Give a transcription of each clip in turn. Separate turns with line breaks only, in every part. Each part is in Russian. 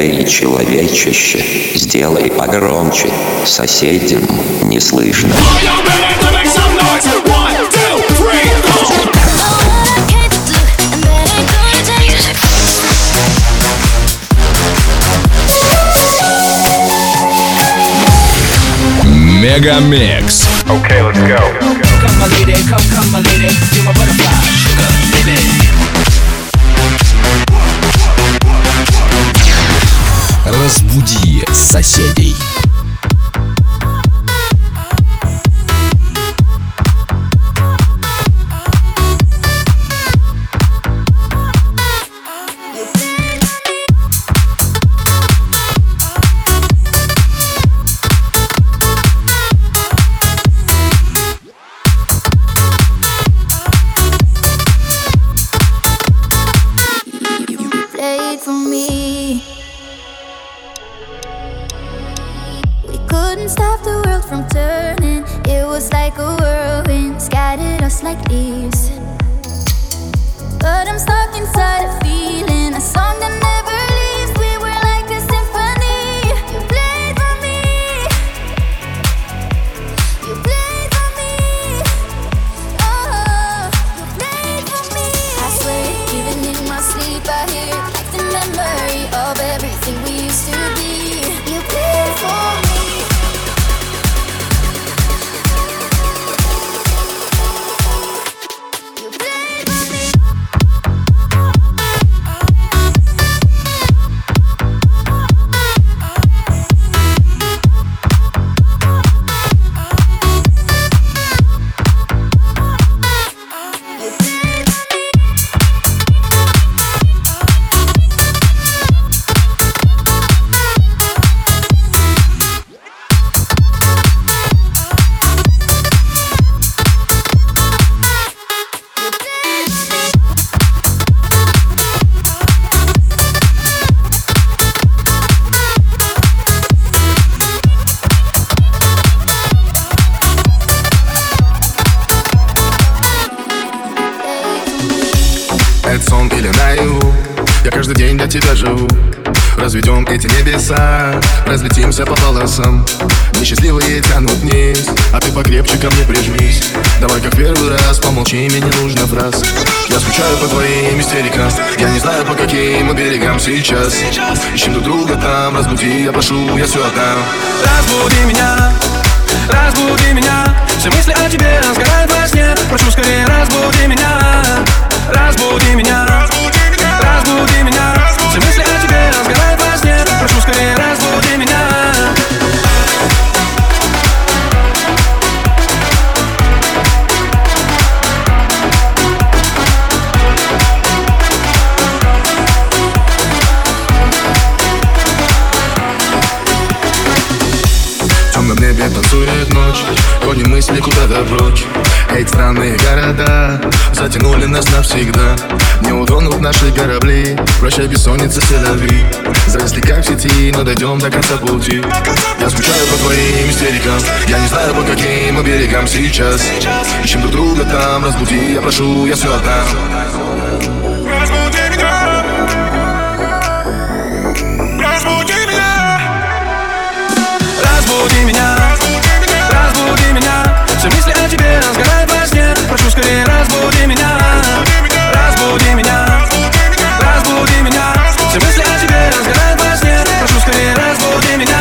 Эй, человечище, сделай погромче, соседям не слышно.
Мегамикс.
Okay, let's go.
Come my lady, come my lady, you're my butterfly, sugar, baby.
Разбуди соседей.
Это сон или наяву, я каждый день для тебя живу. Разведем эти небеса, разлетимся по полосам. Несчастливые тянут вниз, а ты покрепче ко мне прижмись. Давай как первый раз, помолчи, мне не нужно фраз. Я скучаю по твоим истерикам, я не знаю по каким мы берегам сейчас. Ищем друг друга там, разбуди, я прошу, я все отдам.
Разбуди меня, все мысли о тебе сгорают во сне. Прошу скорее, разбуди меня, разбуди меня, разбуди меня. Все мысли о тебе сгорают во сне. Прошу скорее, разбуди меня.
В темном небе танцует ночь, гоним мысли куда-то прочь. Эти странные города затянули нас навсегда. Не утонут наши корабли, прощай бессонница, селяви. Зависли как в сети, но дойдем до конца пути. Я скучаю по твоим истерикам, я не знаю по каким мы берегам сейчас. Ищем друг друга там, разбуди, я прошу, я все отдам. Разбуди меня, разбуди меня,
Разбуди меня, разбуди меня. Все мысли о тебе сгорают во сне. Прошу скорее, разбуди меня, разбуди меня, разбуди меня. Все мысли о тебе сгорают во сне. Прошу скорее, разбуди меня.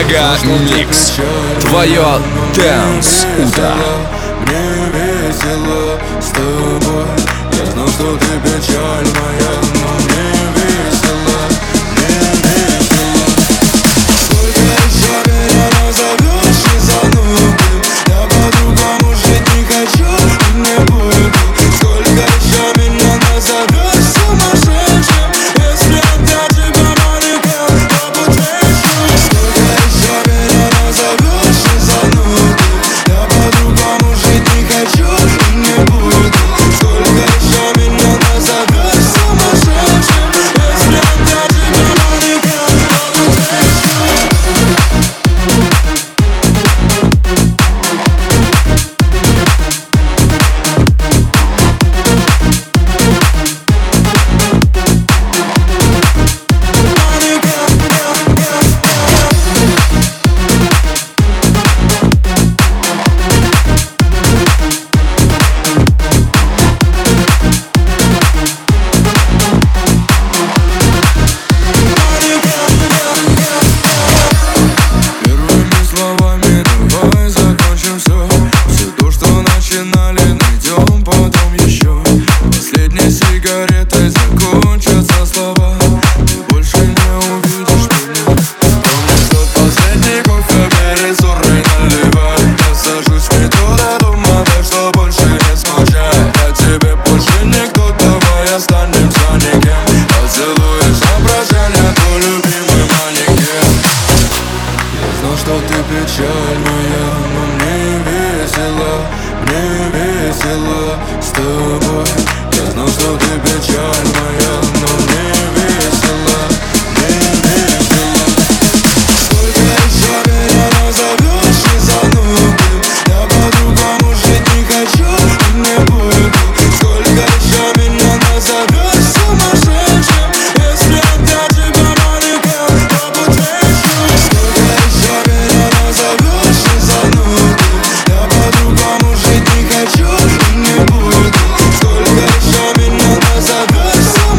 Мега Микс. Твое Dance утро.
Мне весело с тобой. Я знал, что ты печаль моя, но мне весело, мне весело. Сколько еще меня назовешь и занудным, я по-другому жить не хочу и не буду. Сколько еще меня назовешь сумасшедшим, если опять тебя манекен, то подвечу. Сколько еще меня назовешь и занудным, я по-другому жить не хочу и не буду. Сколько еще меня назовешь сумасшедшим, если опять тебя манекен, то подвечу. Первыми словами давай закончим все. Все то, что начинали, найдем потом еще. Последней сигаретой закончатся слова. Ты больше не увидишь меня. Помнишь тот последний кофе, бери суррой наливай. Я сажусь в метро до дома, так что больше не скучай. Я тебе больше никто, давай останемся никем. Поцелуешь на прощание, твой любимый манекен. Я знал, что ты печаль моя, но мне весело с тобой. Я знал, что ты печаль моя, но мне весело, мне весело. Сколько еще меня назовешь и занудным, я по-другому жить не хочу и не буду. Сколько еще меня назовешь сумасшедшим, если опять тебя манекен, то подвечу. Сколько еще меня назовешь и занудным, я по-другому жить не хочу и не буду. Сколько еще меня назовешь сумасшедшим,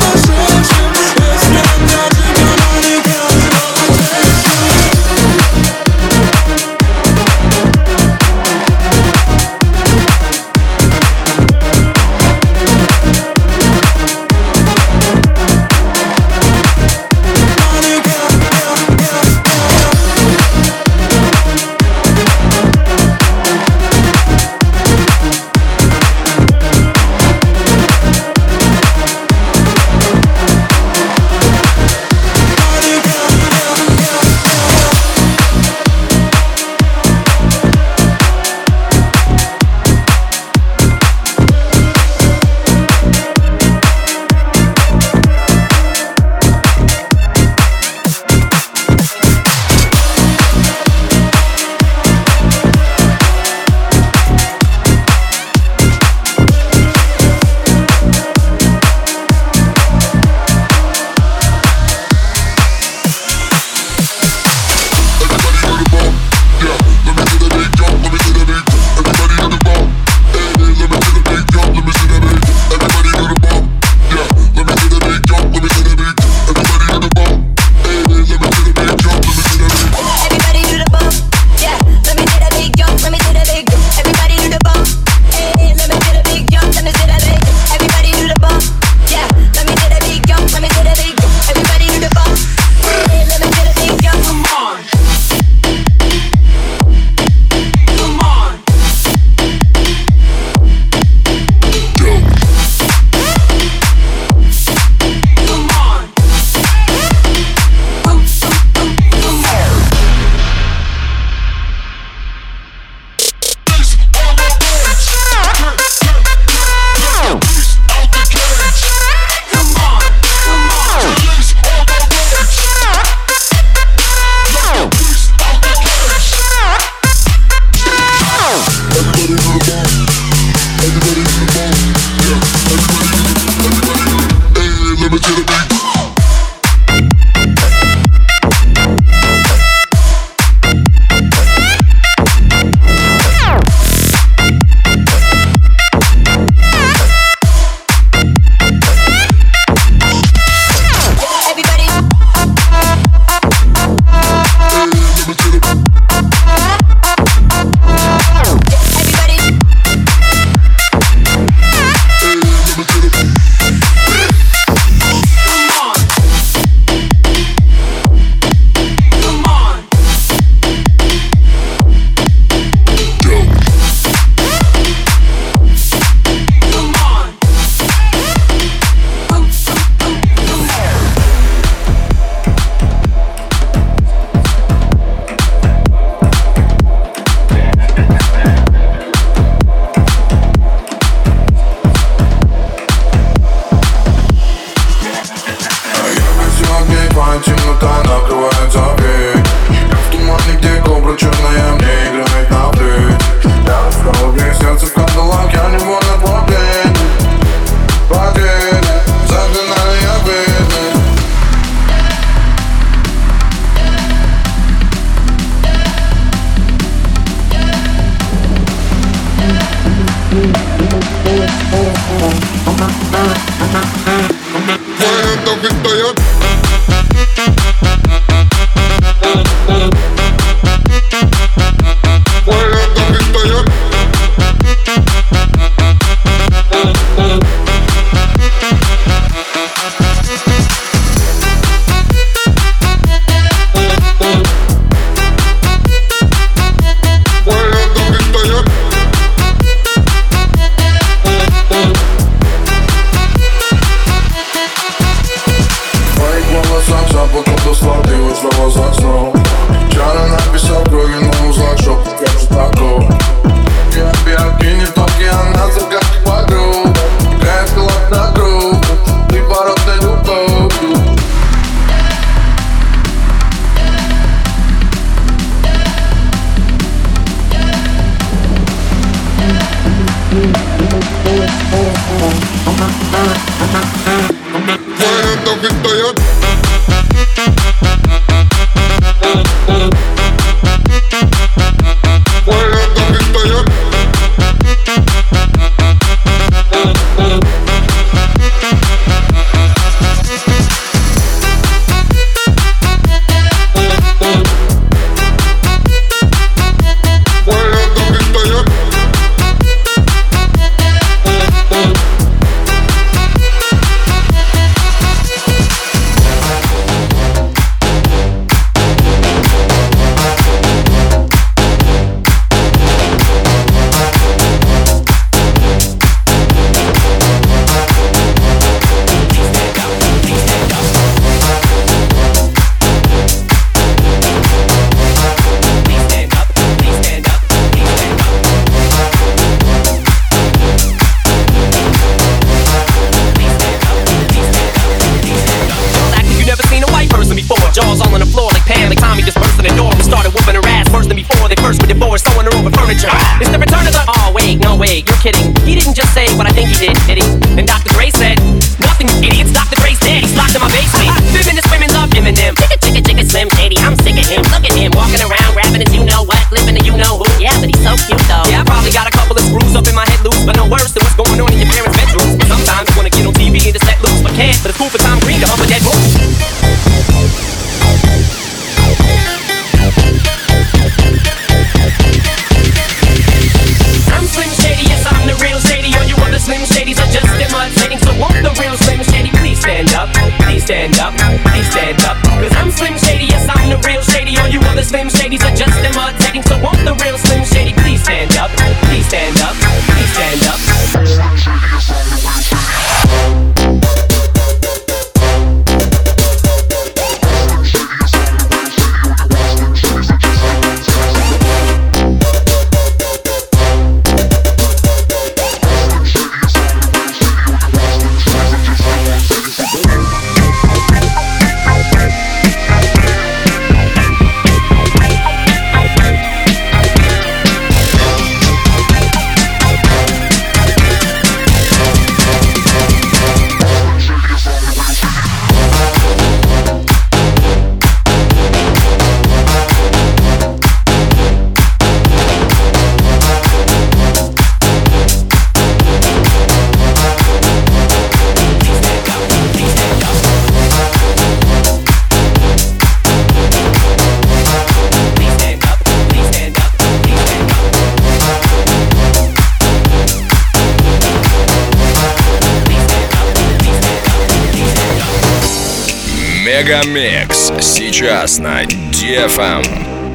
Мегамикс сейчас на DFM.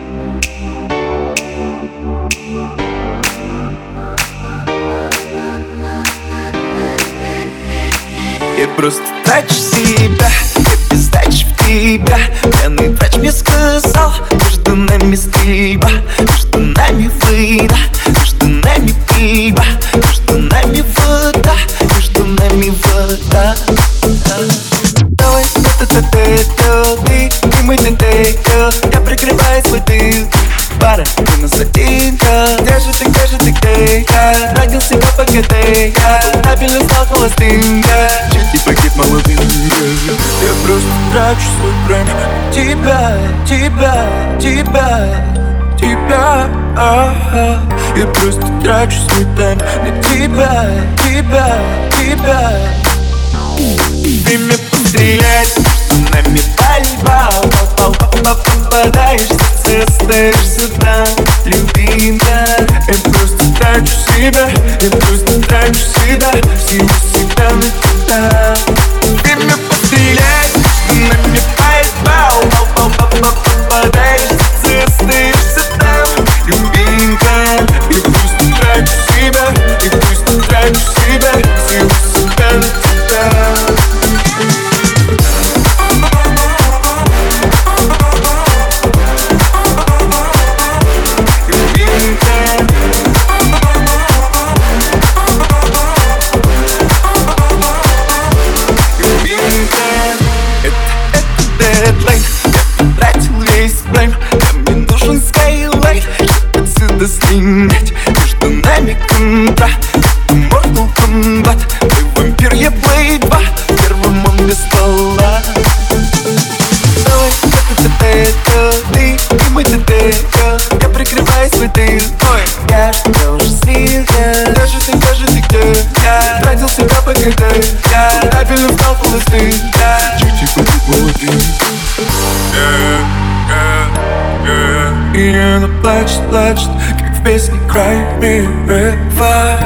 Я просто трачу себя, я без дачи в тебя. Пьяный врач мне сказал, между нами стрельба, между нами война, между нами пиво, между нами вода, между нами вода. Давай, ты мой детектив, я прикрываю свой тыл. Пара, ты нас одинка. Где же ты, где я? Родился я по ГД, я стабильно стал холостым, я чуть не погиб молодым. Я просто трачу свой прайм на тебя, тебя. Я просто трачу свой тайм на тебя. Время пострелять, между нами пальба. Попадаешь в сердце, остаешься там, любимая. Я просто трачу себя, я просто трачу себя, силу себя на тебя. Время пострелять, между нами пальба. Попадаешь в сердце, остаешься там, любимая. Я просто трачу себя, я просто трачу себя, силу себя на тебя. Снять между нами контракт. Mortal Kombat, мой вампир, я Blade 2. Первым он без ствола. Давай, это ты и мой ТТ. Я прикрываю свой тыл. Ой, я что уже слил. Даже ты где? Я тратил себя по КТ. Я правильно встал холосты. Чуть-чуть молодым. И она плачет, как в песне Cry Me River.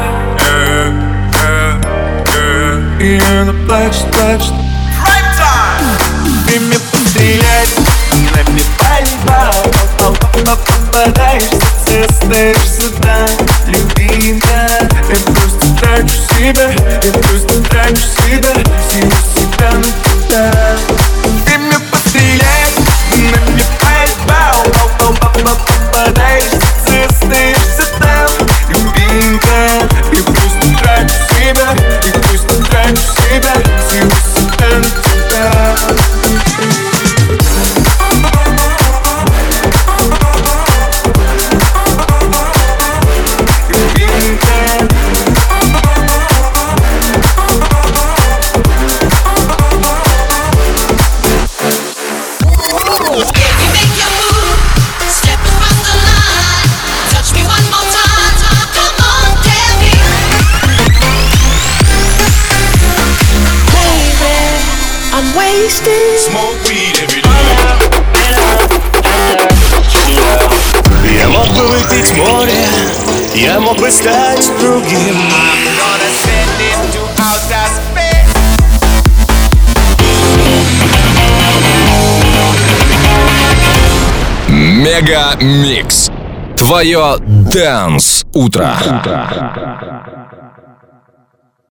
И она плачет. Время пострелять, нами пальба. Попадаешь в сердце, остаешься там, любимая. Я просто трачу себя, я просто трачу себя, силу себя на тебя. Время пострелять, нами пальба. Попадаешь в сердце, остаешься там, любимая. Я просто трачу себя, я просто трачу себя, силу себя на тебя.
Smoke weed every day.
Я мог бы выпить море, я мог бы стать другим.
Мега Микс. Твое Dance утро.